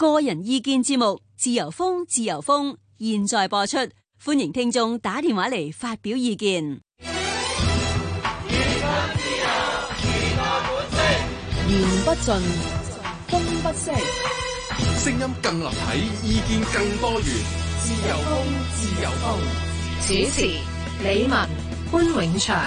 個人意見節目，自由風，自由風，現在播出，歡迎聽眾打電話嚟發表意見。 言不盡，風不息， 聲音更立體，意見更多元。自由風，自由風。 主持李文、潘永祥。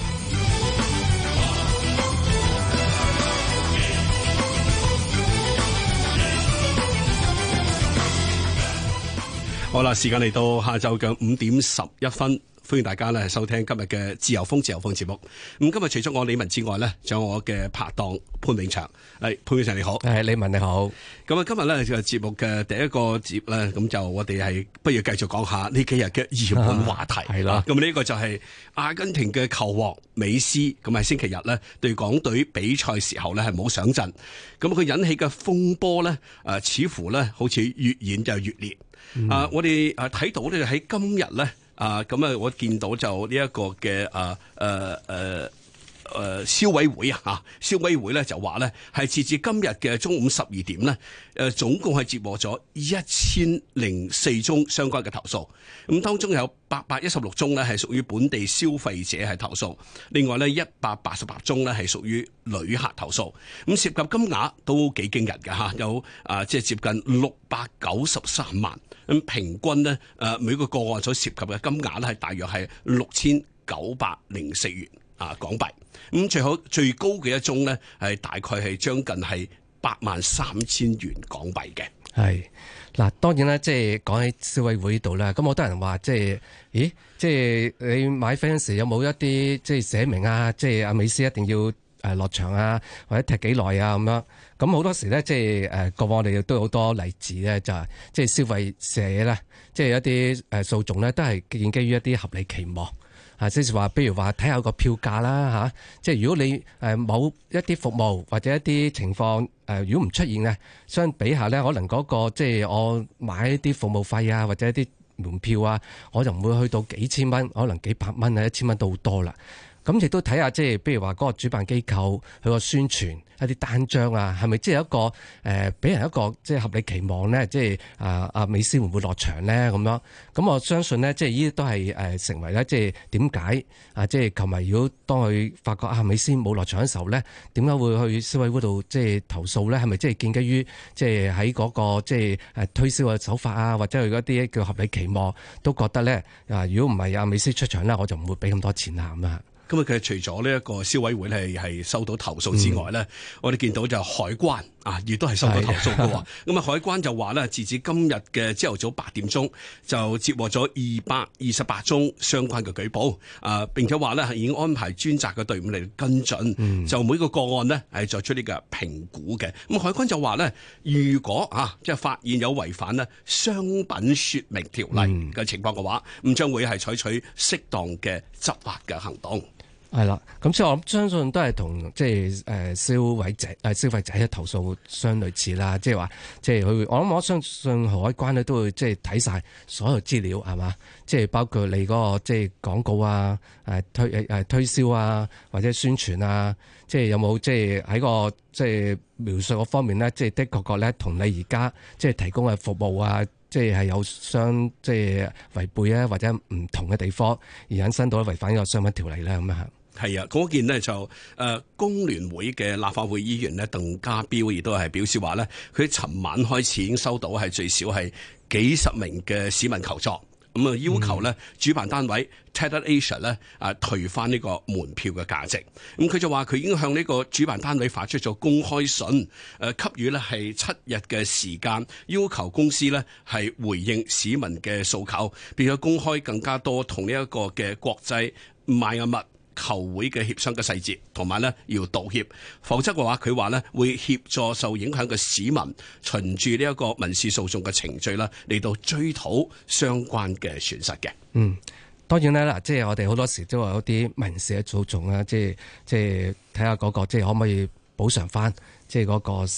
好啦，時間嚟到下晝嘅5:11，歡迎大家咧收聽今日嘅自由風節目。咁今日除咗我李文之外咧，仲有我嘅拍檔潘永祥。潘永祥你好。 李文你好。 咁啊，今日咧就節目嘅第一個節咧，咁就我哋係不如繼續講下呢幾日嘅熱門話題。 係啦。 咁呢個就係阿根廷嘅球王美斯，咁喺星期日咧對港隊比賽時候咧係冇上陣，咁佢引起嘅風波咧，似乎咧好似越演就越烈。我哋睇到咧喺今日咧，我見到就呢一個嘅消委會消委會咧就話咧係截至今日嘅中午12點咧，總共係接獲咗1004宗相關嘅投訴，咁當中有816宗咧係屬於本地消費者係投訴，另外咧188宗咧係屬於旅客投訴，咁涉及金額都幾驚人嘅有即係接近693萬，咁平均咧每個個案所涉及嘅金額咧係大約係6904元港幣。咁最高嘅一宗咧，係大概係將近係83000元港幣嘅。 係嗱，當然啦，即係講喺消委會度啦，咁好多人話即係你買飛嗰時有冇一啲即係寫明即係阿美斯一定要落場或者踢幾耐咁樣。咁好多時咧，即係過往我哋都有好多例子咧，就係即係消費者咧，即係一啲訴訟咧，都係建基於一啲合理期望。即係話，譬如話睇下個票價啦即係如果你某一啲服務或者一啲情況如果唔出現嘅，相比下咧，可能嗰個即係我買一啲服務費或者一啲門票我就唔會去到幾千蚊，可能幾百蚊1000蚊都好多啦。咁亦都睇下即係譬如話嗰個主辦機構佢個宣傳一啲單張係咪即係一個俾人一個即係合理期望咧？即係阿美斯會唔會落場咧？咁樣咁我相信咧，即係呢啲都係成為咧，即係點解即係球迷如果當佢發覺美斯冇落場嘅時候咧，點解會去消委會度即係投訴咧？係咪即係建基於即係喺嗰個即係推銷嘅手法或者佢嗰啲叫合理期望，都覺得咧如果唔係阿美斯出場咧，我就唔會俾咁多錢咁啊！ 咁其實除咗呢一個消委會係收到投訴之外咧，我哋見到就海關亦都係收到投訴嘅喎。咁海關就話咧，截至今日嘅朝頭早8點鐘，就接獲咗228宗相關嘅舉報，並且話咧係已經安排專責嘅隊伍嚟跟進，就每個個案呢係作出呢個評估嘅。咁海關就話咧，如果即係發現有違反咧商品說明條例嘅情況嘅話，咁將會係採取適當嘅執法嘅行動。 係啦，咁所以我相信都係同即係消費者嘅投訴相類似啦，即係話即係佢，我相信海關咧都會即係睇晒所有資料係嘛，即係包括你嗰個即係廣告推銷或者宣傳即係有冇即係喺個即係描述嗰方面咧，即係的確咧同你而家即係提供嘅服務即係有即係違背或者唔同嘅地方，而引申到違反呢個商品條例咧咁啊。 係嗰件呢就工聯會嘅立法會議員呢鄧家彪亦都係表示話咧，佢尋晚開始已經收到係最少係幾十名嘅市民求助，咁要求咧主辦單位 Tatler Asia 咧退翻呢個門票嘅價值。咁佢就話佢已經向呢個主辦單位發出咗公開信，給予咧係7日嘅時間，要求公司咧係回應市民嘅訴求，並且公開更加多同呢一個嘅國際邁阿密球會嘅協商嘅細節，同埋咧要道歉，否則嘅話佢話咧會協助受影響嘅市民循住呢一個民事訴訟嘅程序啦，嚟到追討相關嘅損失嘅。 當然啦，即係我哋好多時都有啲民事嘅訴訟即係睇下嗰個即係可唔可以補償翻即係嗰個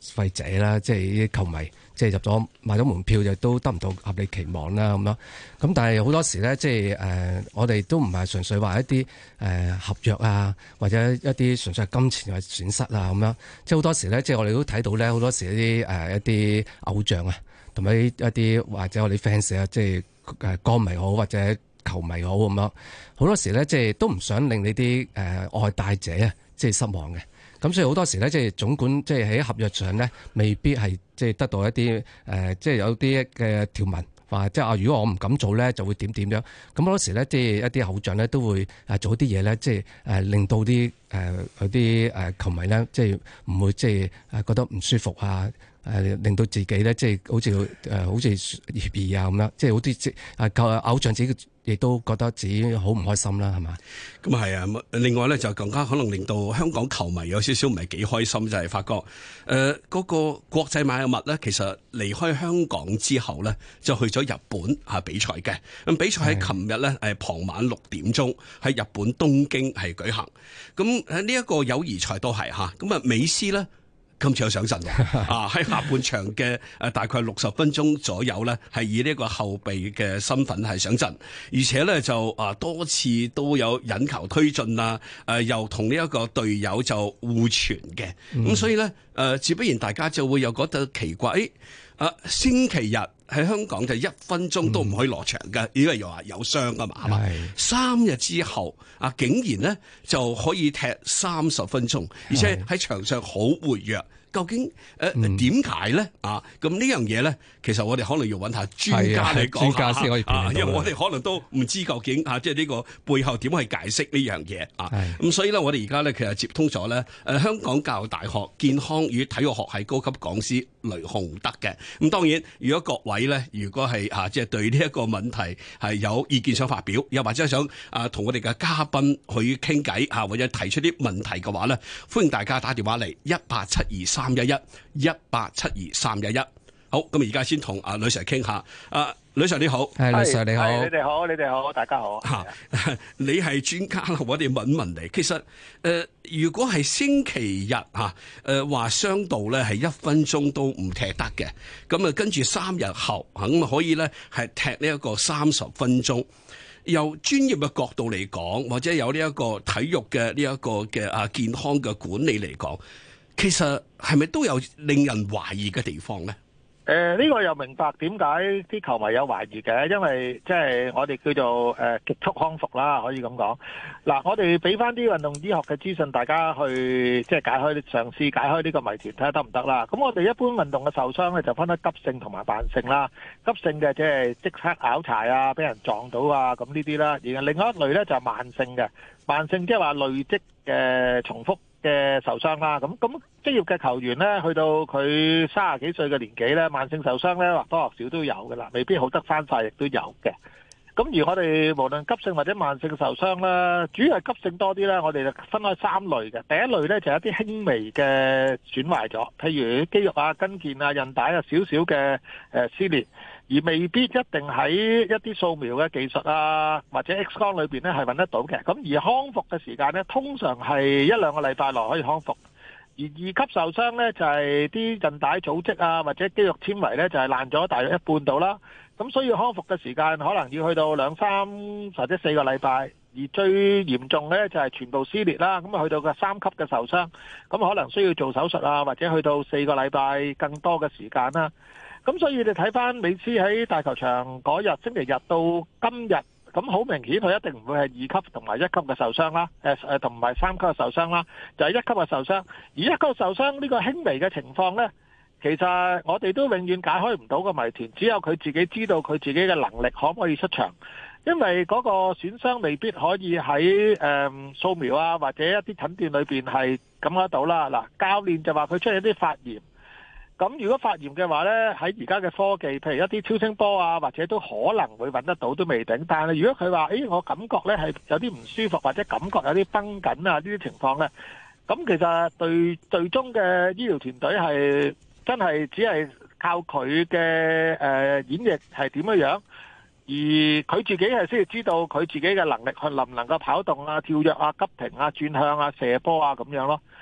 費者啦，即係啲球迷，即係入咗買咗門票就都得唔到合理期望啦咁樣。咁但係好多時咧，即係我哋都唔係純粹話一啲合約啊，或者一啲純粹係金錢嘅損失啊咁樣。即係好多時咧，即係我哋都睇到咧，好多時一啲偶像啊，同埋一啲或者我哋 fans 啊，即係歌迷好或者球迷好咁樣，好多時咧即係都唔想令你啲愛戴者啊即係失望嘅。咁所以好多時咧，即係總管即係喺合約上咧，未必係即係得到一啲即係有啲嘅條文話，即係如果我唔敢做咧，就會點點樣。咁好多時咧，即係一啲偶像咧都會做啲嘢咧，即係令到啲有啲球迷咧，即係唔會即係覺得唔舒服啊。令到自己咧，即係好似協議啊咁樣，即係好似即係偶像自己亦都覺得自己好唔開心啦，係嘛？ 咁係啊，另外咧就更加可能令到香港球迷有少少唔係幾開心，就係發覺嗰個國際邁阿密咧，其實離開香港之後咧，就去咗日本比賽嘅。咁比賽喺琴日咧傍晚6點鐘喺日本東京係舉行。咁呢一個友誼賽都係嚇，咁啊美斯咧。今次有上陣喺下半場嘅大概60分鐘左右咧，係以呢個後備嘅身份係上陣，而且咧就多次都有引球推進啊，又同呢一個隊友就互傳嘅，咁所以咧自不然大家就會有覺得奇怪，星期日喺香港就1分鐘都唔可以落場嘅，因為又話有傷啊嘛，係嘛？3日之後竟然咧就可以踢30分鐘，而且喺場上好活躍。究竟點解咧？咁呢樣嘢咧，其實我哋可能要揾下專家嚟講下，專家先可以因為我哋可能都唔知究竟即係呢個背後點去解釋呢樣嘢咁所以咧，我哋而家咧其實接通咗咧香港教育大學健康與體育學系高級講師雷雄德嘅。咁當然，如果各位咧，如果係即係對呢一個問題係有意見想發表，又或者想同我哋嘅嘉賓去傾偈或者提出啲問題嘅話咧，歡迎大家打電話嚟1872311，1872311。好，咁而家先同呂 Sir 傾下。呂 Sir 你好， 係呂 Sir 你好， 你哋好，大家好。 你係專家，我哋問問你。其實如果係星期日話傷到咧係1分鐘都唔踢得嘅，咁跟住3日後可以咧係踢呢一個30分鐘。由專業嘅角度嚟講，或者有呢一個體育嘅呢一個嘅健康嘅管理嚟講，其實係咪都有令人懷疑嘅地方咧？ 呢個又明白點解啲球迷有懷疑嘅，因為即係我哋叫做極速康復啦，可以咁講。嗱，我哋俾翻啲運動醫學嘅資訊，大家去即係嘗試解開呢個謎團，睇下得唔得啦。咁我哋一般運動嘅受傷咧，就分得急性同埋慢性啦。急性嘅即係即刻拗柴啊，俾人撞到啊，咁呢啲啦。而另外一類咧就係慢性嘅，慢性即係話累積嘅重複嘅受傷啦，咁職業嘅球員咧，去到佢30幾歲嘅年紀咧，慢性受傷咧或多或少都有㗎啦，未必好得翻晒，亦都有嘅。咁而我哋無論急性或者慢性受傷啦，主要係急性多啲啦。我哋就分開3類嘅。第一類咧就係一啲輕微嘅損壞咗，譬如肌肉啊、筋腱啊、韌帶啊少少嘅撕裂，而未必一定喺一啲掃描嘅技術啊或者 X 光裏邊咧係揾得到嘅。咁而康復嘅時間咧，通常係1-2個禮拜內可以康復。而2級受傷咧就係啲韌帶組織啊或者肌肉纖維咧就係爛咗大約一半到啦。咁所以康復嘅時間可能要去到2-3或者4個禮拜，而最嚴重咧就係全部撕裂啦。咁去到個3級嘅受傷，咁可能需要做手術啊，或者去到4個禮拜更多嘅時間啦。咁所以你睇翻美斯喺大球場嗰日星期日到今日，咁好明顯佢一定唔會係2級同埋1級嘅受傷啦，同埋3級嘅受傷啦，就係1級嘅受傷。而1級受傷呢個輕微嘅情況咧，其實我哋都永遠解開唔到個謎團，只有佢自己知道佢自己嘅能力可唔可以出場，因為嗰個損傷未必可以喺掃描啊或者一啲診斷裏邊係感覺得到啦。嗱，教練就話佢出現一啲發炎，咁如果發炎嘅話呢，喺而家嘅科技，譬如一啲超聲波啊，或者都可能會揾得到，都未定。但係如果佢話，我感覺呢係有啲唔舒服，或者感覺有啲繃緊啊呢啲情況呢，咁其實對最終嘅醫療團隊係真係只係靠佢嘅演繹係點樣，而佢自己係先至知道佢自己嘅能力，佢能唔能夠跑動啊、跳躍啊、急停啊、轉向啊、射波啊咁樣咯。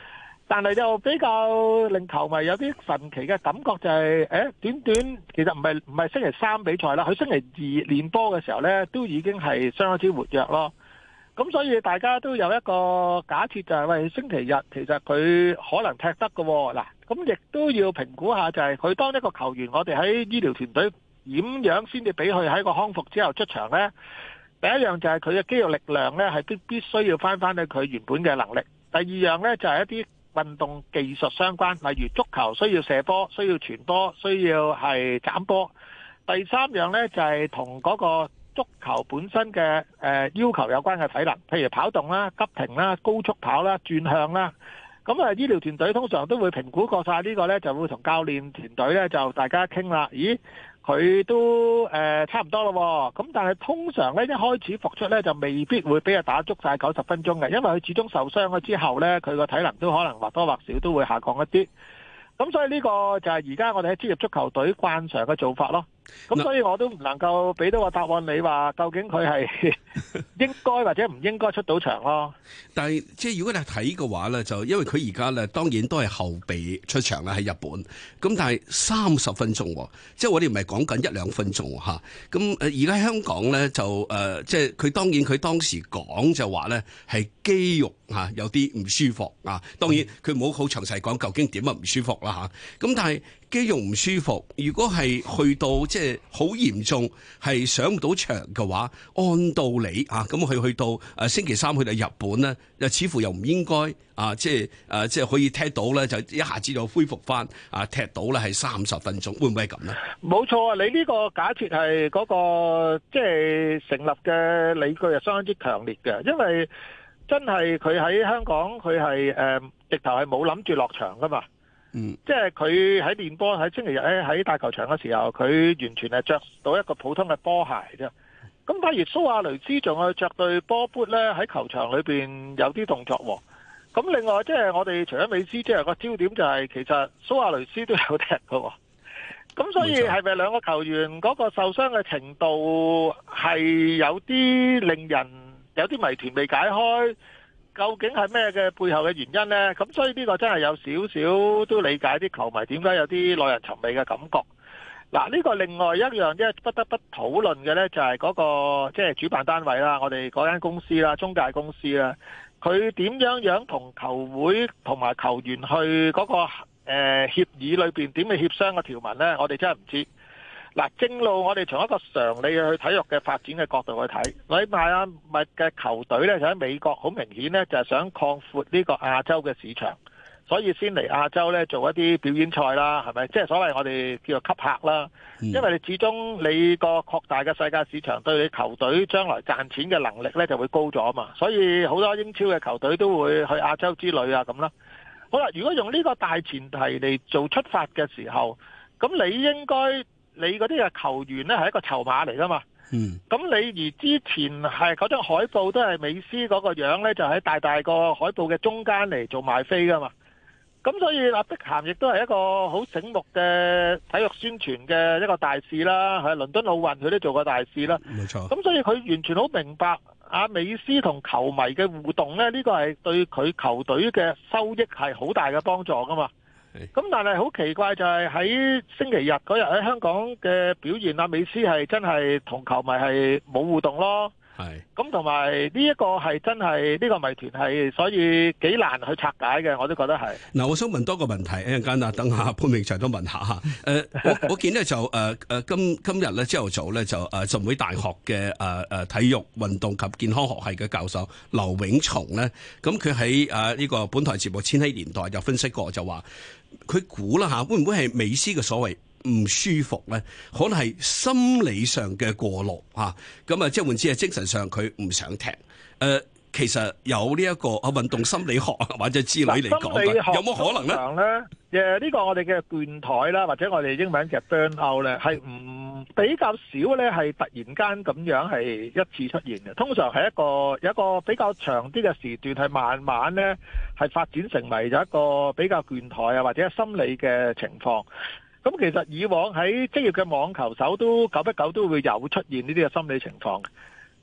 但係就比較令球迷有啲神奇嘅感覺就係，短短其實唔係星期三比賽啦，佢星期二練波嘅時候呢，都已經係相當之活躍咯。咁所以大家都有一個假設就係，喂，星期日其實佢可能踢得㗎喎。嗱，咁亦都要評估下就係佢當一個球員，我哋喺醫療團隊點樣先至俾佢喺個康復之後出場呢？第一樣就係佢嘅肌肉力量呢，係必須要翻去佢原本嘅能力。第二樣呢，就係一啲運動技術相關，例如足球需要射波、需要傳波、需要係斬波。第三樣呢，就係同嗰個足球本身嘅要求有關嘅體能，譬如跑動啦、急停啦、高速跑啦、轉向啦。咁醫療團隊通常都會評估過晒呢個呢，就會同教練團隊呢，就大家傾啦。咦，佢都差唔多咯。咁但係通常呢，一開始復出呢，就未必會俾佢打足晒90分鐘嘅，因為佢始終受傷咗之後呢，佢個體能都可能或多或少都會下降一啲。咁所以呢個就係而家我哋喺職業足球隊慣常嘅做法咯。咁所以我都唔能夠俾到個答案你話究竟佢係應該或者唔應該出到場咯。 但係即係如果你睇嘅話咧，就因為佢而家咧當然都係後備出場啦喺日本，咁但係30分鐘，即係我哋唔係講緊1-2分鐘嚇。咁而家香港咧就即係佢當然佢當時講就話咧係肌肉嚇有啲唔舒服啊。當然佢冇好詳細講究竟點啊唔舒服啦嚇。咁但係肌肉唔舒服，如果係去到即係好嚴重，係上唔到場嘅話，按道理啊，咁佢去到星期三去到日本咧，又似乎又唔應該即係可以踢到咧，就一下子就恢復翻踢到咧係30分鐘，會唔會係咁咧？冇錯啊！你呢個假設係嗰個即係成立嘅理據係相當之強烈嘅，因為真係佢喺香港佢係直頭係冇諗住落場噶嘛。即係佢喺練波喺星期日咧喺大球場嘅時候，佢完全係着到一個普通嘅波鞋啫。咁反而蘇亞雷斯仲係着對波 boot 咧喺球場裏邊有啲動作喎。咁另外即係我哋除咗美斯，即係個焦點就係其實蘇亞雷斯都有踢嘅。咁所以係咪兩個球員嗰個受傷嘅程度係有啲令人有啲謎團未解開？究竟係咩嘅背後嘅原因呢？咁所以呢個真係有少少都理解啲球迷點解有啲耐人尋味嘅感覺。嗱，呢個另外一樣即係不得不討論嘅呢，就係嗰個即係主辦單位啦，我哋嗰間公司啦，中介公司啦，佢點樣同球會同埋球員去嗰個協議裏邊點去協商嘅條文呢？我哋真係唔知。嗱，正路我哋從一個常理去體育嘅發展嘅角度去睇，你邁阿密嘅球隊呢，就喺美國好明顯呢，就係想擴闊呢個亞洲嘅市場，所以先嚟亞洲呢做一啲表演賽啦，係咪？即係所謂我哋叫做吸客啦。因為你始終你個擴大嘅世界市場對你球隊將來賺錢嘅能力呢就會高咗嘛，所以好多英超嘅球隊都會去亞洲之旅啊咁啦。好啦，如果用呢個大前提嚟做出發嘅時候，咁你應該你嗰啲嘅球員呢係一個籌碼嚟噶嘛？咁你而之前係嗰張海報都係美斯嗰個樣呢，就喺大大個海報嘅中間嚟做賣飛噶嘛？咁所以碧咸亦都係一個好醒目嘅體育宣傳嘅一個大使啦，喺倫敦奧運佢都做過大使啦。冇錯。咁所以佢完全好明白阿美斯同球迷嘅互動呢，呢個係對佢球隊嘅收益係好大嘅幫助噶嘛。咁但係好奇怪就係喺星期日嗰日喺香港嘅表現，阿美斯係真係同球迷係冇互動咯。係。咁同埋呢一個係真係呢個謎團係，所以幾難去拆解嘅，我都覺得係。嗱，我想問多個問題，一陣間等下潘永祥都問下嚇。我見呢就今日咧朝頭早咧就浸會大學嘅體育運動及健康學系嘅教授劉永松咧，咁佢喺呢個本台節目《千禧年代》就分析過，就話佢估啦嚇，會唔會係美斯嘅所謂唔舒服咧？可能係心理上嘅過勞嚇，咁即係換之係精神上佢唔想踢。其實有呢一個運動心理學或者之類嚟講，有冇可能咧？呢個我哋嘅倦怠啦，或者我哋英文嘅 burn out 咧，係唔比較少咧，係突然間咁樣係一次出現嘅。通常係有一個比較長啲嘅時段，係慢慢咧係發展成為咗一個比較倦怠啊，或者心理嘅情況。咁其實以往喺職業嘅網球手都久不久都會有出現呢啲嘅心理情況。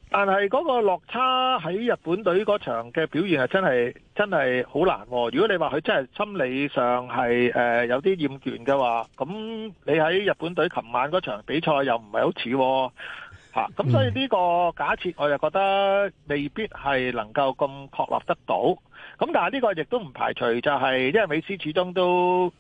但係嗰個落差喺日本隊嗰場嘅表現係真係好難喎。如果你話佢真係心理上係有啲厭倦嘅話，咁你喺日本隊琴晚嗰場比賽又唔係好似喎。咁所以呢個假設我就覺得未必係能夠咁確立得到。咁但係呢個亦都唔排除就係因為美斯始終都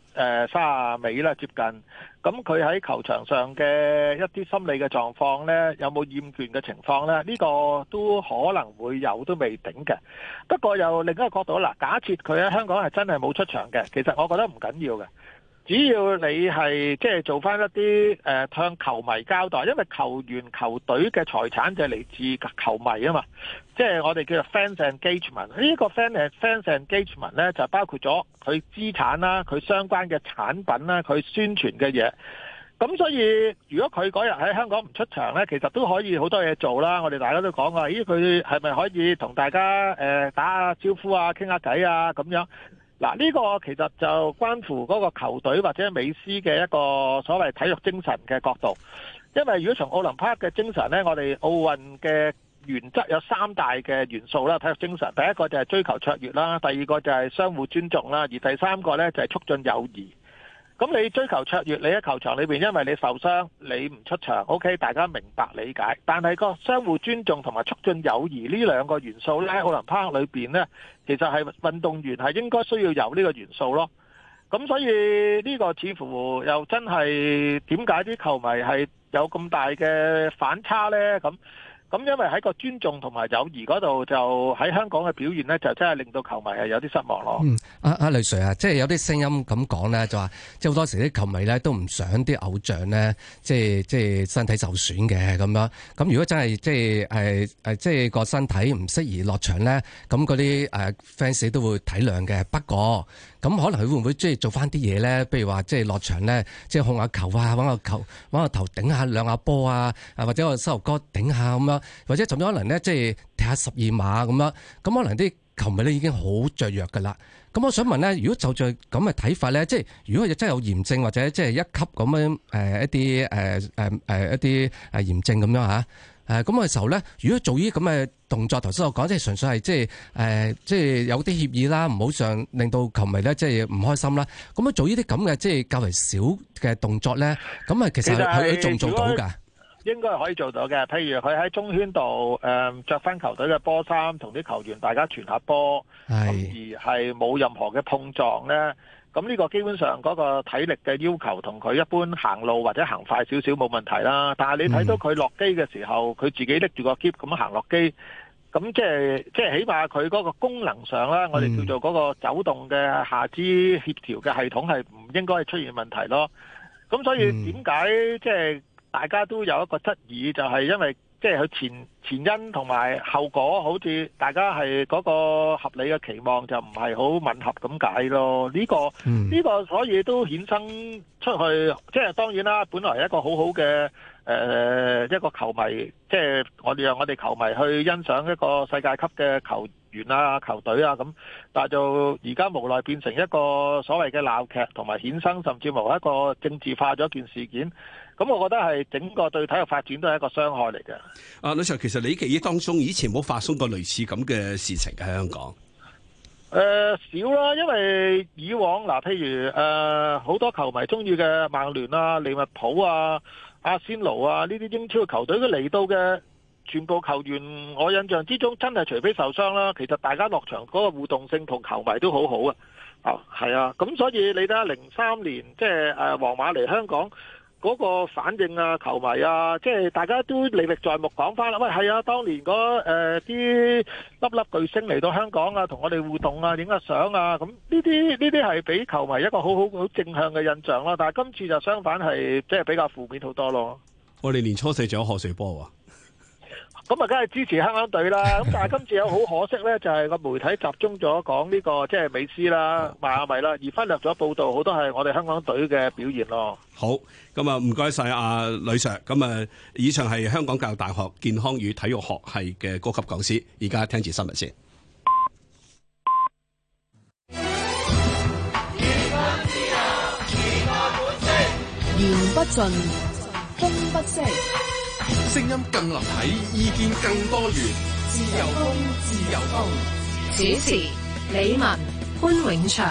30尾啦接近，咁佢喺球場上嘅一啲心理嘅狀況呢，有冇厭倦嘅情況呢？呢個都可能會有，都未定嘅。不過又另一個角度啦，假設佢喺香港係真係冇出場嘅，其實我覺得唔緊要嘅。只要你係即係做翻一啲向球迷交代，因為球員球隊嘅財產就係嚟自球迷啊嘛，即係我哋叫做 fans engagement。呢個 fans engagement 咧就包括咗佢資產啦、佢相關嘅產品啦、佢宣傳嘅嘢。咁所以如果佢嗰日喺香港唔出場咧，其實都可以好多嘢做啦。我哋大家都講話，咦佢係咪可以同大家打下招呼啊、傾下偈啊咁樣？嗱，呢個其實就關乎嗰個球隊或者美斯嘅一個所謂體育精神嘅角度。因為如果從奧林匹克嘅精神呢，我哋奧運嘅原則有3大嘅元素啦，體育精神。第一個就係追求卓越啦，第二個就係相互尊重啦，而第3個呢就係促進友誼。咁你追求卓越，你喺球場裏邊，因為你受傷，你唔出場 ，OK， 大家明白理解。但係個相互尊重同埋促進友誼呢2個元素咧，喺奧林匹克裏邊呢，其實係運動員係應該需要有呢個元素咯。咁所以呢個似乎又真係點解啲球迷係有咁大嘅反差呢？咁因為喺個尊重同埋友誼嗰度，就喺香港嘅表現呢，就真係令到球迷係有啲失望咯。 阿雷 Sir 啊，即係有啲聲音咁講咧，就話即係好多時啲球迷咧都唔想啲偶像咧，即係身體受損嘅咁樣。咁如果真係即係個身體唔適宜落場咧，咁嗰啲fans 都會體諒嘅。不過咁可能佢會唔會即係做翻啲嘢咧？譬如話即係落場咧，即係控下球啊，揾個頭頂下兩下波啊，或者個膝頭哥頂下咁樣，或者甚至可能咧即係踢下12碼咁樣。咁可能啲球迷咧已經好雀躍㗎啦。咁我想問咧，如果就咁嘅睇法咧，即係如果真係有炎症或者即係1級咁樣一啲炎症咁樣嚇。咁嘅時候咧，如果做呢啲咁嘅動作，頭先我講即係純粹係即係有啲協議啦，唔好上令到球迷咧即係唔開心啦。咁樣做呢啲咁嘅即係較為少嘅動作咧，咁啊其實佢做唔做到㗎？ 應該係可以做到嘅。譬如佢喺中圈度着翻球隊嘅波衫，同啲球員大家傳下波，而係冇任何嘅碰撞咧。咁呢個基本上嗰個體力嘅要求同佢一般行路或者行快少少冇問題啦。但係你睇到佢落機嘅時候，佢自己拎住個篋咁行落機，咁即係起碼佢嗰個功能上啦，我哋叫做嗰個走動嘅下肢協調嘅系統係唔應該出現問題咯。咁所以點解即係大家都有一個質疑，就係因為即係佢前因同埋後果，好似大家係嗰個合理嘅期望就唔係好吻合咁解咯。呢個所以都衍生出去，即係當然啦，本來一個好好嘅一個球迷，即係讓我哋球迷去欣賞一個世界級嘅球員啊、球隊啊咁，但係就而家無奈變成一個所謂嘅鬧劇，同埋衍生甚至乎一個政治化咗件事件。咁我覺得係整個對體育發展都係一個傷害嚟嘅。 阿呂 Sir，其實你記憶當中以前冇發生過類似咁嘅事情喺香港？ 少啦，因為以往譬如好多球迷中意嘅曼聯啊、利物浦啊、阿仙奴啊呢啲英超嘅球隊，佢嚟到嘅全部球員，我印象之中真係除非受傷啦，其實大家落場嗰個互動性同球迷都好好啊。係啊，咁所以你睇下03年即係皇馬嚟香港嗰個反應啊，球迷啊，即係大家都歷歷在目講翻啦。喂，係啊，當年嗰啲粒巨星嚟到香港啊，同我哋互動啊，影下相啊，咁呢啲係俾球迷一個好正向嘅印象咯。但係今次就相反係即係比較負面好多咯。 我哋年初4仲有賀歲波喎。 咁啊，梗係支持香港隊啦。咁但係今次有好可惜咧，就係個媒體集中咗講呢個即係美斯啦、邁阿密啦，而忽略咗報導好多係我哋香港隊嘅表現咯。 好，咁啊唔該晒阿呂 Sir。咁啊，以上係香港教育大學健康與體育學系嘅高級講師。而家聽住新聞先。 言不盡，風不息。 聲音更立體，意見更多元。自由風，自由風。 主持李文、潘永祥。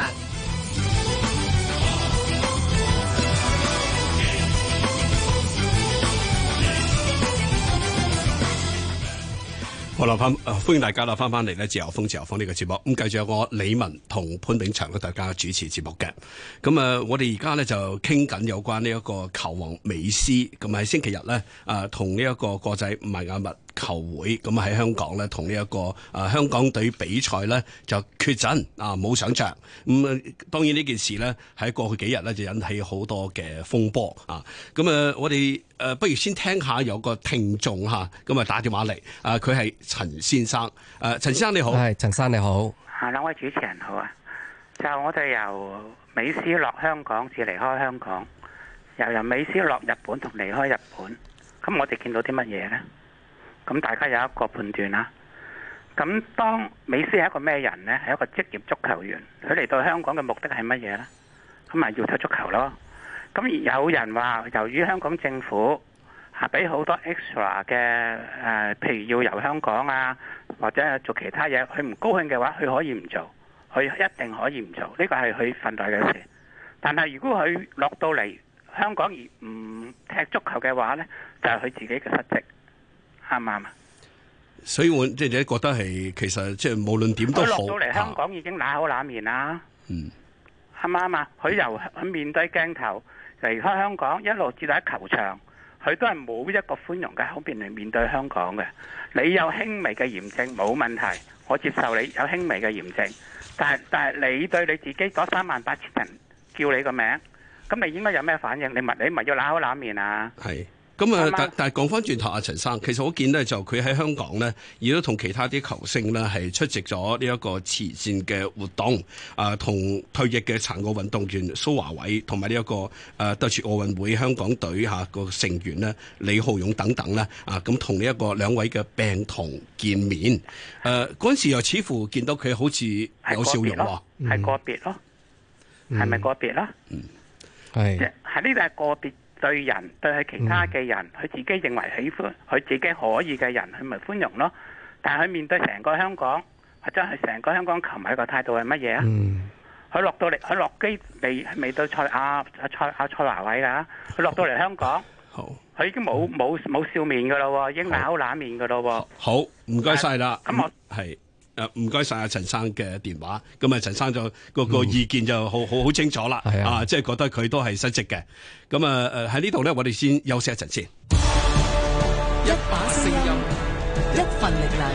好啦，歡迎大家啦，翻嚟咧自由風呢個節目。咁繼續有我李文同潘炳祥咧，大家主持節目嘅。咁我哋而家咧就傾緊有關呢一個球王美斯。咁喺星期日咧，同呢一個國際邁阿密球會咁喺香港咧，同呢一個香港隊比賽咧就缺陣冇上場。咁當然呢件事咧喺過去幾日咧就引起好多嘅風波啊。咁我哋不如先聽下有個聽眾咁打電話嚟，佢係陳先生。陳先生你好。 係陳生你好。 兩位主持人好啊。就我哋由美斯落香港至離開香港，又由美斯落日本同離開日本，咁我哋見到啲乜嘢呢？咁大家有一個判斷啦。咁當美斯係一個咩人呢？係一個職業足球員，佢嚟到香港嘅目的係乜嘢呢？咁咪要踢足球咯。咁有人話，由於香港政府俾好多 extra 嘅譬如要遊香港啊，或者做其他嘢，佢唔高興嘅話，佢可以唔做，佢一定可以唔做，呢個係佢份內嘅事。但係如果佢落到嚟香港而唔踢足球嘅話呢，就係佢自己嘅失職，啱唔啱啊？ 所以我即係覺得係其實即係無論點都好， 佢落到嚟香港已經揦口揦面啦，啱唔啱啊？佢由佢面對鏡頭離開香港，一路至到喺球場，佢都係冇一個寬容嘅口面嚟面對香港嘅。你有輕微嘅炎症冇問題，我接受你有輕微嘅炎症，但係你對你自己嗰38000人叫你個名，咁你應該有咩反應？你咪要揦口揦面啊？ 係。咁但係講翻轉頭，阿陳生，其實我見咧就佢喺香港咧，亦都同其他啲球星咧係出席咗呢一個慈善嘅活動，同退役嘅殘奧運動員蘇華偉同埋呢一個德國奧運會香港隊個成員咧李浩勇等等咧，咁同呢一個兩位嘅病童見面，嗰陣時又似乎見到佢好似有笑容喎， 係個別咯，係咪個別啦？ 係喺呢度係個別。對人對佢其他嘅人，佢自己認為喜歡，佢自己可以嘅人，佢咪寬容咯。但係佢面對成個香港，或者係成個香港球迷個態度係乜嘢啊？佢落到嚟，佢落機未到蔡華偉㗎，佢落到嚟香港，佢已經冇笑面㗎咯，已經揦口揦面㗎咯。 好，唔該晒啦。 咁我係。唔該晒阿陳生嘅電話，咁陳生就個意見就好清楚啦，即係覺得佢都係失職嘅。咁喺呢度咧，我哋先休息一陣先。 一把聲音， 一份力量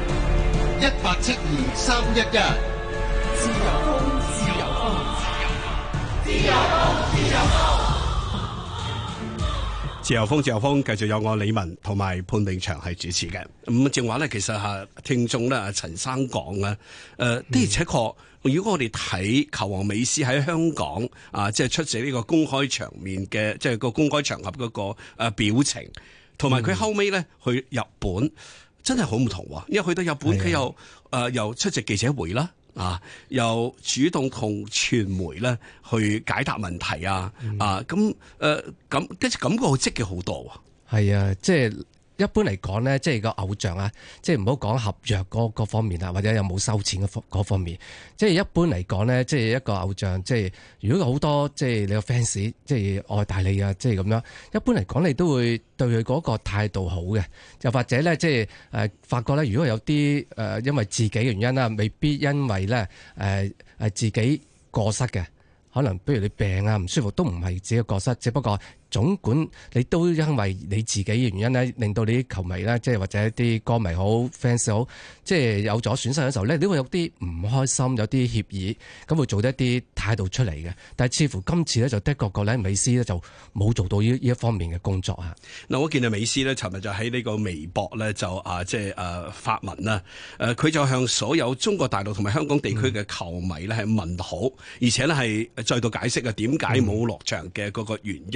，172-311。 自由風，自由風， 自由風，自由風。 自由風，自由風，繼續有我李文同埋潘永祥係主持嘅。咁正話咧，其實聽眾咧，陳生講咧，的而且確，如果我哋睇球王美斯喺香港即係出席呢個公開場面嘅，即係個公開場合嗰個表情，同埋佢後尾咧去日本，真係好唔同喎。因為去到日本，佢又出席記者會啦。又主動同傳媒咧去解答問題咁跟住感覺好積極好多喎。 係啊，即係一般嚟講咧，即係個偶像啊，即係唔好講合約嗰方面啊，或者有冇收錢嗰方面。即係一般嚟講咧，即係一個偶像，即係如果好多即係你個 fans 即係愛戴你啊，即係咁樣。一般嚟講，你都會對佢嗰個態度好嘅，又或者咧，即係發覺咧，如果有啲因為自己原因啦，未必因為咧自己過失嘅，可能比如你病啊唔舒服都唔係自己過失，只不過總管你都因為你自己嘅原因咧，令到你啲球迷咧，即係或者啲歌迷好 fans 好，即係有咗損失嘅時候咧，你會有啲唔開心，有啲歉意，咁會做一啲態度出嚟嘅。但係似乎今次咧就的確個咧美斯咧就冇做到呢一方面嘅工作啊。 嗱，我見到美斯咧，尋日就喺呢個微博咧就即係發文啦。佢就向所有中國大陸同埋香港地區嘅球迷咧係問好，而且咧係再度解釋點解冇落場嘅嗰個原因。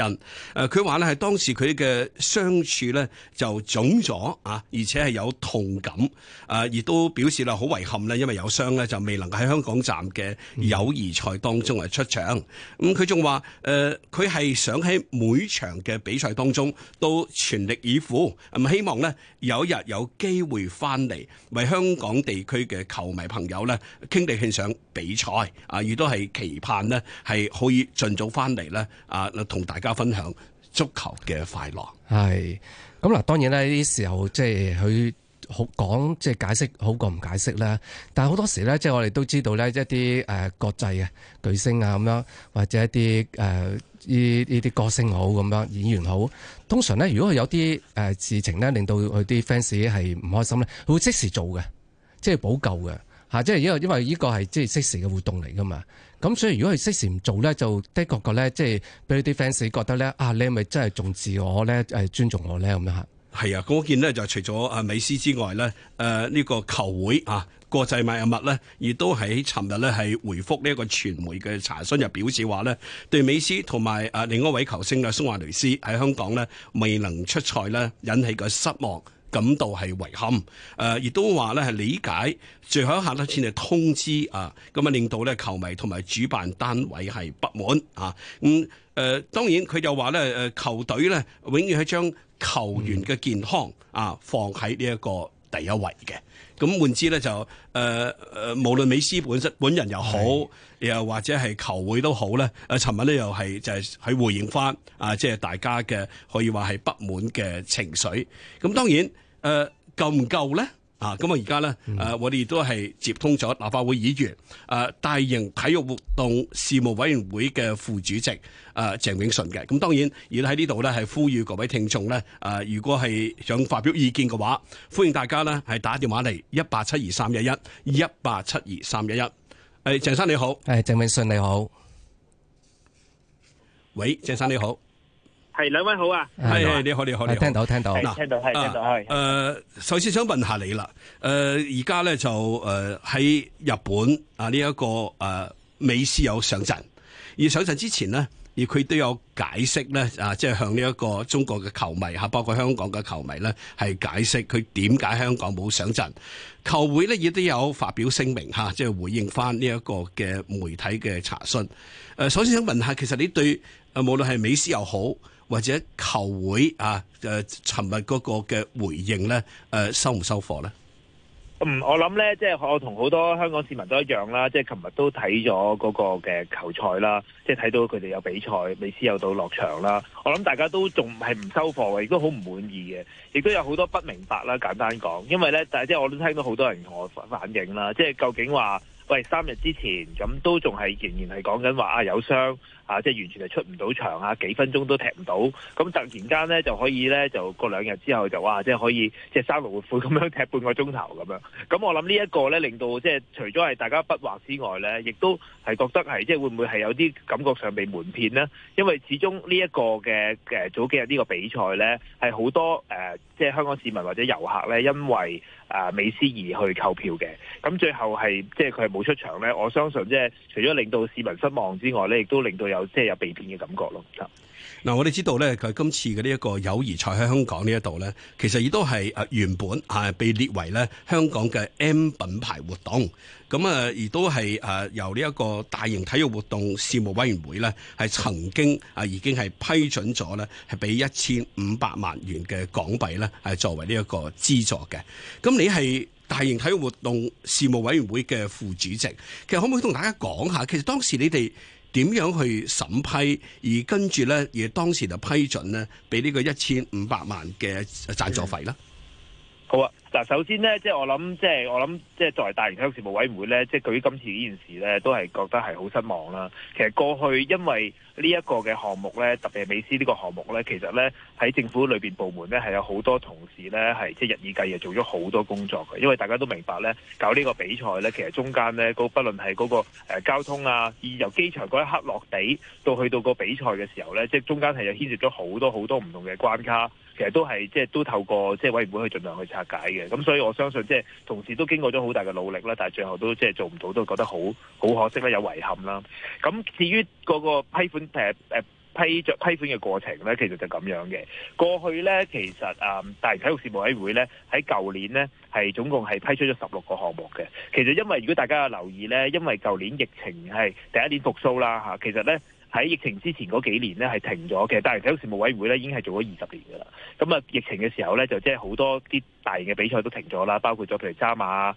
佢話咧係當時佢嘅傷處咧就腫咗啊，而且係有痛感，亦都表示啦好遺憾咧，因為有傷咧就未能喺香港站嘅友誼賽當中係出場。咁佢仲話佢係想喺每場嘅比賽當中都全力以赴，咁希望咧有一日有機會翻嚟為香港地區嘅球迷朋友咧傾地獻上比賽啊，亦都係期盼呢係可以盡早翻嚟咧啊，同大家分享足球嘅快樂。係咁嗱，當然咧呢啲時候即係佢好講，即係解釋好過唔解釋啦。但係好多時咧，即係我哋都知道咧，一啲國際嘅巨星啊咁樣，或者一啲呢啲歌星好咁樣，演員好，通常咧如果佢有啲事情咧令到佢啲 fans 係唔開心咧，佢會即時做嘅，即係補救嘅嚇。即係因為呢個係即係即時嘅活動嚟噶嘛。咁所以如果佢即時唔做咧，就的確個咧，即係俾啲 fans 覺得咧啊，你係咪真係重視我咧？尊重我咧咁樣嚇。係啊，嗰件呢就除咗美斯之外咧，呢個球會啊國際邁阿密咧，亦都喺尋日咧係回覆呢一個傳媒嘅查詢，就表示話咧，對美斯同埋另一位球星嘅蘇亞雷斯喺香港咧未能出賽咧，引起嘅失望，感到係遺憾，亦都話咧係理解最後一刻咧先係通知啊，咁啊令到咧球迷同埋主辦單位係不滿啊。當然佢又話咧球隊咧永遠係將球員嘅健康啊放喺呢一個第一位嘅。咁換之咧就無論美斯本人又好，又或者係球會都好咧，尋日咧又係就係喺回應翻即係大家嘅可以話係不滿嘅情緒。咁當然夠唔夠咧？咁而家咧我哋亦都係接通咗立法會議員大型體育活動事務委員會嘅副主席鄭泳舜嘅。咁當然而喺呢度咧係呼籲各位聽眾咧如果係想發表意見嘅話，歡迎大家咧係打電話嚟1872311鄭生你好。 鄭泳舜你好。 喂，鄭生你好。 係兩位好啊！ 係你好， 聽到聽到首先想問下你啦，而家咧就喺日本呢一個美斯有上陣，而上陣之前呢，而佢都有解釋咧即係向呢一個中國嘅球迷包括香港嘅球迷咧係解釋佢點解香港冇上陣。球會咧亦都有發表聲明即係回應翻呢一個嘅媒體嘅查詢。首先想問下，其實你對無論係美斯又好，或者球會尋日嗰個嘅回應咧，收唔收貨咧？ 我諗咧，即係我同好多香港市民都一樣啦，即係琴日都睇咗嗰個嘅球賽啦，即係睇到佢哋有比賽，美斯有到落場啦。我諗大家都仲係唔收貨嘅，亦都好唔滿意嘅，亦都有好多不明白啦。簡單講，因為咧，但係即係我都聽到好多人同我反映啦，即係究竟話，喂，3日之前咁都仲係仍然係講緊話有傷。即係完全係出唔到場幾分鐘都踢唔到，咁突然間咧就可以咧就過2日之後就即係可以即係生龍活虎咁樣踢半個鐘頭咁樣。咁我諗呢一個咧令到即係除咗係大家不惑之外咧，亦都係覺得係即係會唔會係有啲感覺上被瞞騙呢？因為始終呢一個嘅早幾日呢個比賽咧係好多即係香港市民或者遊客咧因為美斯而去購票嘅，咁最後係即係佢係冇出場咧。我相信即係除咗令到市民失望之外咧，亦都令到有被騙嘅感覺咯。 嗱，我哋知道咧，佢今次嘅呢一個友誼賽喺香港呢一度咧，其實亦都係原本被列為咧香港嘅 M 品牌活動。咁亦都係由呢一個大型體育活動事務委員會咧，係曾經已經係批准咗咧，係俾1500萬元嘅港幣咧，係作為呢一個資助嘅。咁你係大型體育活動事務委員會嘅副主席，其實可唔可以同大家講下，其實當時你哋點樣去審批，而跟住咧，而當時就批准咧，俾呢個1500萬嘅贊助費啦。 好啊，嗱，首先咧，即係我諗，即係作為大型體育事務委員會咧，即係對於今次呢件事咧，都係覺得係好失望啦。其實過去因為呢一個嘅項目咧，特別係美斯呢個項目咧，其實咧喺政府裏邊部門咧係有好多同事咧係即係日以繼夜做咗好多工作嘅。因為大家都明白咧，搞呢個比賽咧，其實中間咧不論係嗰個交通由機場嗰一刻落地到去到個比賽嘅時候咧，即係中間係有牽涉咗好多唔同嘅關卡。其實都係即係都透過即係委員會去盡量去拆解嘅，咁所以我相信即係同事都經過咗好大嘅努力啦，但係最後都即係做唔到，都覺得好可惜啦，有遺憾啦。咁至於嗰個批批款嘅過程咧，其實就咁樣嘅。過去咧，其實大型體育事務委員會咧喺舊年咧係總共係批出咗16個項目嘅。其實因為如果大家有留意咧，因為舊年疫情係第一年復甦啦嚇，其實咧喺疫情之前嗰幾年咧係停咗嘅。大型體育事務委員會咧已經係做咗20年㗎啦。咁啊，疫情嘅時候咧就即係好多啲大型嘅比賽都停咗啦，包括咗譬如渣馬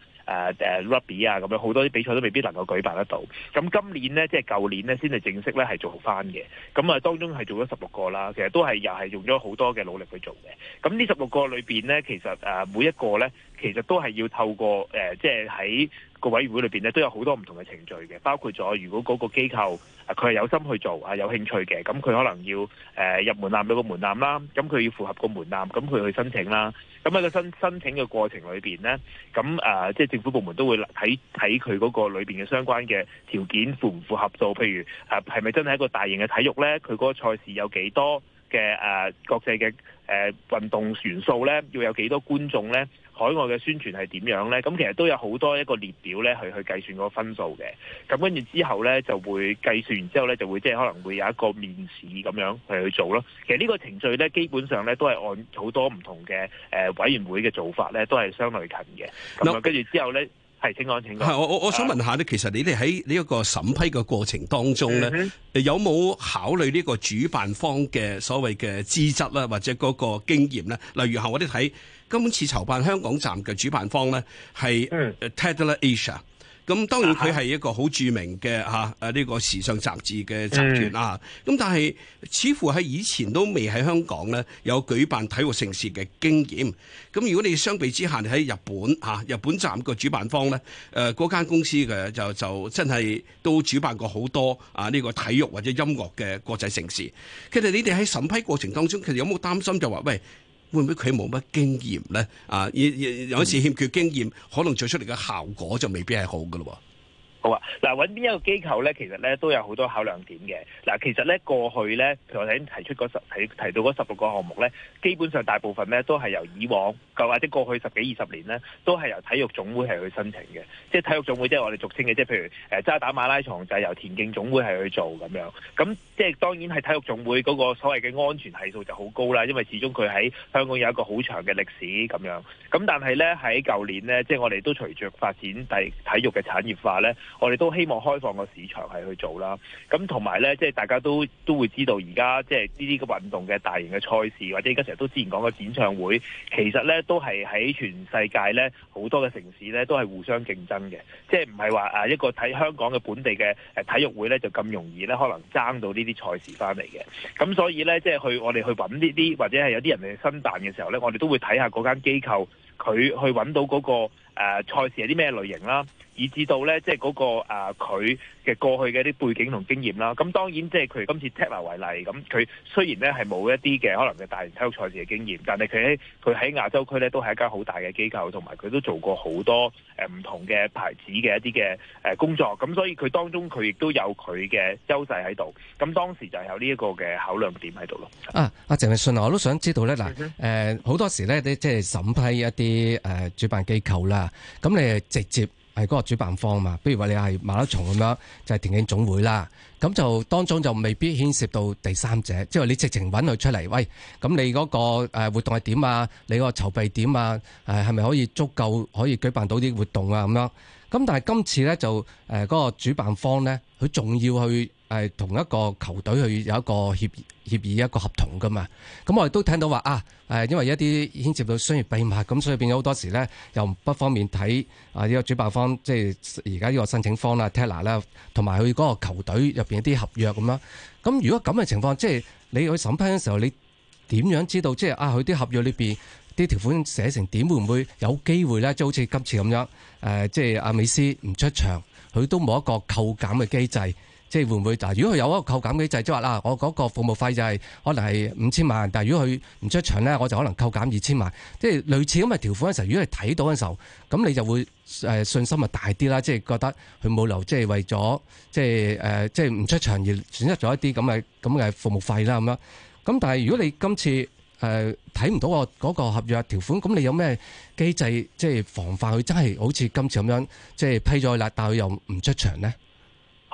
rugby 啊咁樣，好多啲比賽都未必能夠舉辦得到。咁今年呢，即係舊年呢，先係正式咧係做翻嘅。咁啊，當中係做咗16個啦，其實都係又係用咗好多嘅努力去做嘅。咁呢16個裏邊呢，其實每一個呢，其實都係要透過即係喺個委員會裏邊呢，都有好多唔同嘅程序嘅，包括咗如果嗰個機構佢係有心去做有興趣嘅，咁佢可能要入門檻有個門檻啦，咁佢要符合個門檻，咁佢去申請啦。咁喺個申請嘅過程裏邊呢，咁即係政府部門都會睇佢嗰個裏邊嘅相關嘅條件符唔符合到，譬如係咪真係一個大型嘅體育呢？佢嗰個賽事有幾多嘅國際嘅運動元素呢？要有幾多觀眾呢？海外嘅宣傳係點樣呢？咁其實都有好多一個列表咧，去計算嗰個分數嘅。咁跟住之後咧，就會計算完之後咧，就會即係可能會有一個面試咁樣去做咯。其實呢個程序咧，基本上咧都係按好多唔同嘅委員會嘅做法咧，都係相類近嘅。咁啊，跟住之後咧。係，請講。係我想問下咧，其實你哋喺呢一個審批嘅過程當中咧，有冇考慮呢個主辦方嘅所謂嘅資質啦，或者嗰個經驗咧？例如我哋睇今次籌辦香港站嘅主辦方咧，係 Tatler Asia。咁當然佢係一個好著名嘅呢個時尚雜誌嘅集團啊。咁但係似乎喺以前都未喺香港咧有舉辦體育盛事嘅經驗。咁如果你相比之下，你喺日本站個主辦方咧，嗰間公司嘅就真係都主辦過好多呢個體育或者音樂嘅國際盛事。其實你哋喺審批過程當中，其實有冇擔心就話喂，會唔會佢冇乜經驗咧？有時欠缺經驗，可能做出嚟嘅效果就未必係好㗎咯。 好啊，嗱，揾邊一個機構咧，其實咧都有好多考量點嘅。嗱，其實咧過去咧，譬如我哋已經提到嗰16個項目咧，基本上大部分咧都係由以往或者過去10幾20年咧，都係由體育總會係去申請嘅。即係體育總會，即係我哋俗稱嘅，即係譬如渣打馬拉松就係由田徑總會係去做咁樣。咁即係當然係體育總會嗰個所謂嘅安全係數就好高啦，因為始終佢喺香港有一個好長嘅歷史咁樣。咁但係咧喺舊年咧，即係我哋都隨着發展體育嘅產業化咧。我哋都希望開放個市場係去做啦，咁同埋咧，即係大家都會知道而家即係呢啲嘅運動嘅大型嘅賽事，或者而家成日都之前講嘅演唱會，其實咧都係喺全世界咧好多嘅城市咧都係互相競爭嘅，即係唔係話一個睇香港嘅本地嘅體育會咧就咁容易咧可能爭到呢啲賽事翻嚟嘅，咁所以咧即係我哋去揾呢啲或者係有啲人嚟申辦嘅時候咧，我哋都會睇下嗰間機構佢去揾到嗰個賽事係啲咩類型啦。以至到咧，即係嗰個佢嘅過去嘅一啲背景同經驗啦。咁當然即係佢今次 Tatler 為例，咁佢雖然咧係冇一啲嘅可能嘅大型體育賽事嘅經驗，但係佢喺亞洲區咧都係一間好大嘅機構，同埋佢都做過好多唔同嘅牌子嘅一啲嘅工作。咁所以佢當中佢亦都有佢嘅優勢喺度。咁當時就有呢一個嘅考量點喺度咯。 阿鄭泳舜我都想知道咧，嗱好多時咧，你即係審批一啲主辦機構啦，咁你係直接係嗰個主辦方嘛，比如話你係馬拉松咁樣，就係田徑總會啦。咁就當中就未必牽涉到第三者，即係你直情揾佢出嚟，喂，咁你嗰個活動係點啊？你個籌備點啊？係咪可以足夠可以舉辦到啲活動啊？咁樣。咁但係今次咧就嗰個主辦方咧，佢仲要去同一個球隊去有一個協議一個合同噶嘛。咁我哋都聽到話因為一啲牽涉到商業秘密，咁所以變咗好多時咧又不方便睇呢個主辦方，即係而家呢個申請方啦 Tatler 啦，同埋佢嗰個球隊入邊一啲合約咁啦。咁如果咁嘅情況，即係你去審批嘅時候，你點樣知道即係佢啲合約裏邊啲條款寫成點，會唔會有機會咧？即係好似今次咁樣，即係阿美斯唔出場，佢都冇一個扣減嘅機制，即係會唔會？如果佢有一個扣減機制，即係話我嗰個服務費就係可能係5000萬，但係如果佢唔出場咧，我就可能扣減2000萬，即係類似咁嘅條款嘅時候，如果你睇到嘅時候，咁你就會信心咪大啲啦，即係覺得佢冇留，即係為咗即係唔出場而損失咗一啲咁嘅服務費啦咁樣。咁但係如果你今次睇唔到嗰個合約條款，咁你有咩機制即係防範佢真係好似今次咁樣即係批咗啦，但係佢又唔出場呢？ 好啊，嗱，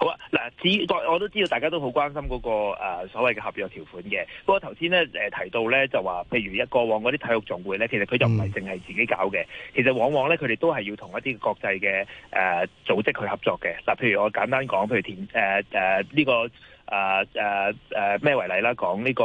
我都知道大家都好關心嗰個所謂嘅合約條款嘅。不過頭先咧提到咧就話，譬如過往嗰啲體育總會咧，其實佢就唔係淨係自己搞嘅，其實往往咧佢哋都係要同一啲國際嘅組織去合作嘅。嗱，譬如我簡單講，譬如呢個咩為例啦？講呢個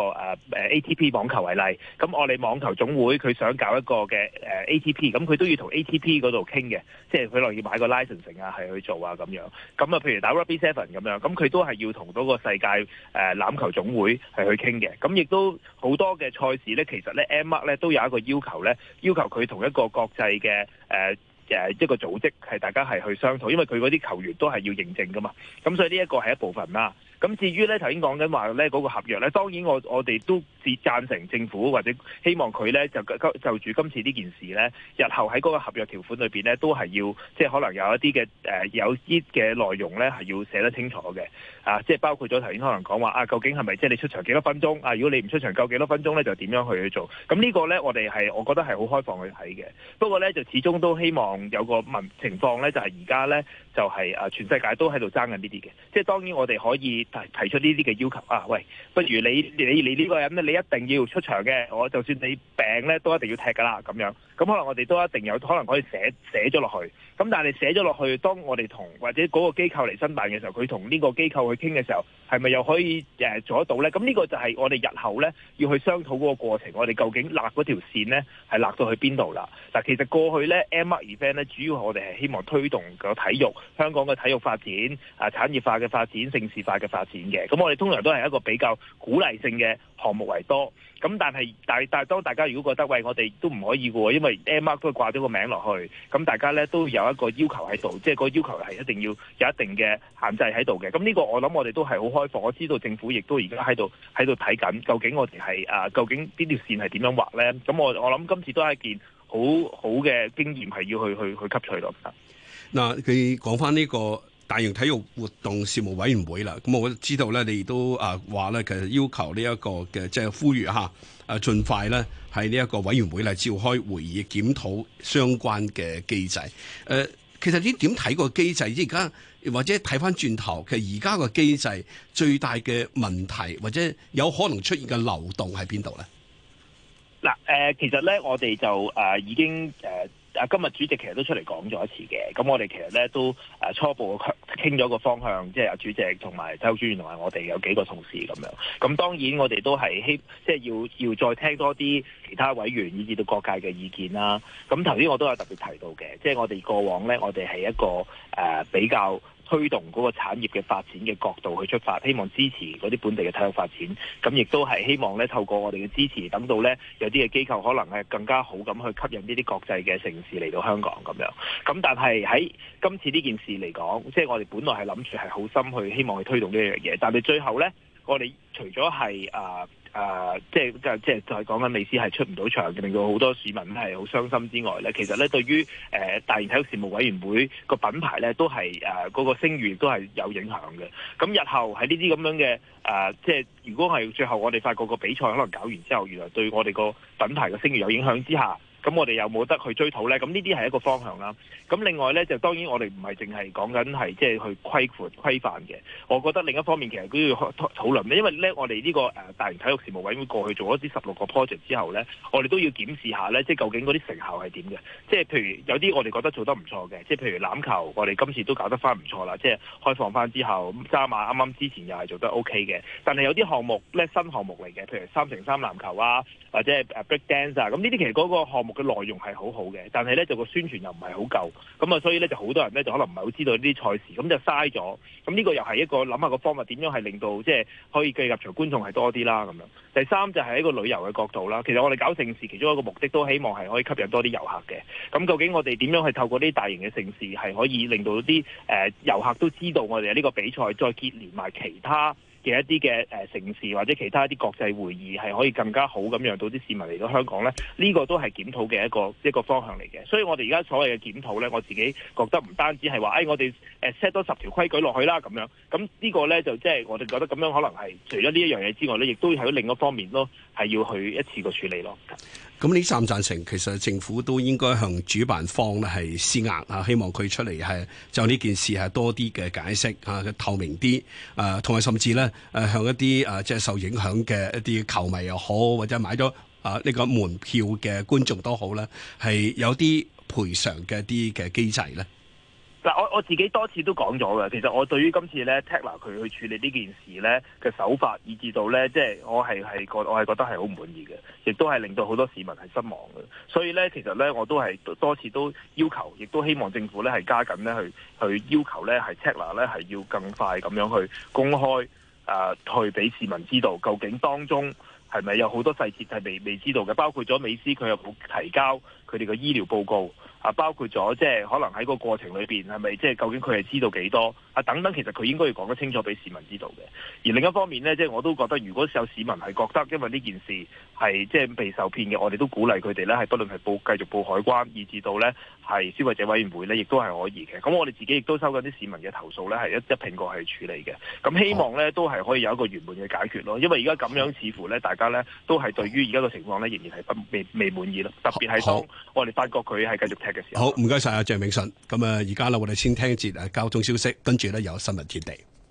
ATP 網球為例，咁我哋網球總會佢想搞一個嘅ATP，咁佢都要同 ATP 嗰度傾嘅，即係佢落要買個 licensing 啊，係去做啊咁樣。咁啊，譬如打 Rugby Seven 咁樣，咁佢都係要同嗰個世界欖球總會係去傾嘅。咁亦都好多嘅賽事咧，其實咧 M1 咧都有一個要求咧，要求佢同一個國際嘅一個組織係大家係去商討，因為佢嗰啲球員都係要認證噶嘛。咁所以呢一個係一部分啦。咁至於咧頭先講緊話咧嗰個合約咧，當然我哋都贊成政府或者希望佢咧就住今次呢件事咧，日後喺嗰個合約條款裏邊咧都係要即係可能有一啲嘅有啲嘅內容咧係要寫得清楚嘅即係包括咗頭先可能講話究竟係咪即係你出場幾多分鐘如果你唔出場夠幾多分鐘咧，就點樣去做？咁呢個咧我覺得係好開放去睇嘅。不過咧就始終都希望有個情況咧，就係而家咧就係全世界都喺度爭緊呢啲嘅，即係當然我哋可以提出呢啲嘅要求喂，不如你呢個人咧，你一定要出場嘅，我就算你病咧都一定要踢噶啦咁樣。咁可能我哋都一定有可能可以寫咗落去。咁但係你寫咗落去，當我哋同或者嗰個機構嚟申辦嘅時候，佢同呢個機構去傾嘅時候，係咪又可以做得到咧？咁呢個就係我哋日後咧要去商討嗰個過程，我哋究竟立嗰條線咧係立到去邊度啦？嗱，其實過去咧 M1 event 咧，主要我哋係希望推動個體育，香港嘅體育發展產業化嘅發展、盛事化嘅發展嘅。咁我哋通常都係一個比較鼓勵性嘅項目為多。咁但係當大家如果覺得喂，我哋都唔可以嘅喎，因為 M1 都掛咗個名落去，咁大家咧都有一個要求喺度，即係個要求係一定要有一定嘅限制喺度嘅。咁呢個我諗我哋都係好開放。我知道政府亦都而家喺度睇緊，究竟我哋係究竟呢條線係點樣畫咧？咁我諗今次都係一件好好嘅經驗，係要去吸取咯。 嗱，佢講翻呢個大型體育活動事務委員會啦，咁我知道咧，你都話咧，其實要求呢一個嘅即係呼籲下盡快咧喺呢一個委員會嚟召開會議檢討相關嘅機制。其實你點睇個機制？而家或者睇翻轉頭，其實而家個機制最大嘅問題或者有可能出現嘅漏洞喺邊度咧？ 嗱，其實咧，我哋就已經今日主席其實都出嚟講咗一次嘅。咁我哋其實咧都初步傾咗個方向，即係主席同埋體育專員同埋我哋有幾個同事咁樣。咁當然我哋都係即係要再聽多啲其他委員以至到各界嘅意見啦。咁頭先我都有特別提到嘅，即係我哋過往咧，我哋係一個比較推動嗰個產業嘅發展嘅角度去出發，希望支持嗰啲本地嘅體育發展。咁亦都係希望咧透過我哋嘅支持，等到咧有啲嘅機構可能係更加好咁去吸引呢啲國際嘅城市嚟到香港咁樣。咁但係喺今次呢件事嚟講，即係我哋本來係諗住係好心去希望去推動呢樣嘢，但係最後咧，我哋除咗係即係講緊美斯係出唔到場，令到好多市民係好傷心之外咧，其實咧對於大型體育事務委員會個品牌咧，都係嗰個聲譽都係有影響嘅。咁日後喺呢啲咁樣嘅即係如果係最後我哋發覺個比賽可能搞完之後，原來對我哋個品牌嘅聲譽有影響之下，咁我哋有冇得去追討咧？咁呢啲係一個方向啦。咁另外咧，就當然我哋唔係淨係講緊係即係去規範嘅。我覺得另一方面其實都要討論咧，因為咧我哋呢個大型體育事務委員會過去做咗啲16個 project 之後咧，我哋都要檢視下咧，即係究竟嗰啲成效係點嘅。即係譬如有啲我哋覺得做得唔錯嘅，即係譬如欖球，我哋今次都搞得翻唔錯啦。即係開放翻之後，渣馬啱啱之前又係做得 OK 嘅。但係有啲項目咧新項目嚟嘅，譬如3x3籃球啊，或者係break dance 啊，咁呢啲其實嗰個項目嘅內容係好好嘅，但係咧就個宣傳又唔係好夠，咁啊所以咧就好多人咧就可能唔係好知道呢啲賽事，咁就嘥咗。咁呢個又係一個諗下個方法，點樣係令到即係可以計入場觀眾係多啲啦咁樣。第三就係一個旅遊嘅角度啦。其實我哋搞盛事其中一個目的都希望係可以吸引多啲遊客嘅。咁究竟我哋點樣去透過啲大型嘅盛事係可以令到啲遊客都知道我哋呢個比賽，再結連埋其他嘅一啲嘅城市或者其他一啲國際會議係可以更加好咁讓到啲市民嚟到香港咧，呢個都係檢討嘅一個方向嚟嘅。所以我哋而家所謂嘅檢討咧，我自己覺得唔單止係話，我哋set 多10條規矩落去啦咁樣。咁呢個咧就即係我哋覺得咁樣可能係除咗呢一樣嘢之外咧，亦都喺另一方面咯，係要去一次過處理咯。 咁你贊唔贊成？其實政府都應該向主辦方咧係施壓啊，希望佢出嚟係就呢件事係多啲嘅解釋啊，透明啲同埋甚至咧向一啲即係受影響嘅一啲球迷又好，或者買咗呢個門票嘅觀眾都好咧，係有啲賠償嘅啲嘅機制咧。 嗱，我自己多次都講咗嘅，其實我對於今次咧 Tatler 佢去處理呢件事咧嘅手法，以至到咧即係我係覺得係好唔滿意嘅，亦都係令到好多市民係失望嘅。所以咧，其實咧我都係多次都要求，亦都希望政府咧係加緊咧去要求咧係 Tatler 咧係要更快咁樣去公開去俾市民知道究竟當中係咪有好多細節係未知道嘅，包括咗美斯佢有冇提交佢哋嘅醫療報告。包括咗即係可能喺個過程裏邊係咪即係究竟佢係知道幾多等等，其實佢應該要講得清楚俾市民知道嘅。而另一方面呢，即係我都覺得，如果有市民係覺得因為呢件事係即係被受騙嘅，我哋都鼓勵佢哋咧係不論係繼續報海關，以至到咧係消費者委員會咧，亦都係可以嘅。咁我哋自己亦都收緊啲市民嘅投訴咧，係一併過去處理嘅。咁希望咧都係可以有一個圓滿嘅解決咯。因為而家咁樣似乎咧，大家咧都係對於而家個情況咧仍然係未滿意咯。特別係當我哋發覺佢係繼續踢嘅時候。 好，唔該晒阿鄭泳舜。咁而家咧我哋先聽一節交通消息，跟住咧有新聞天地。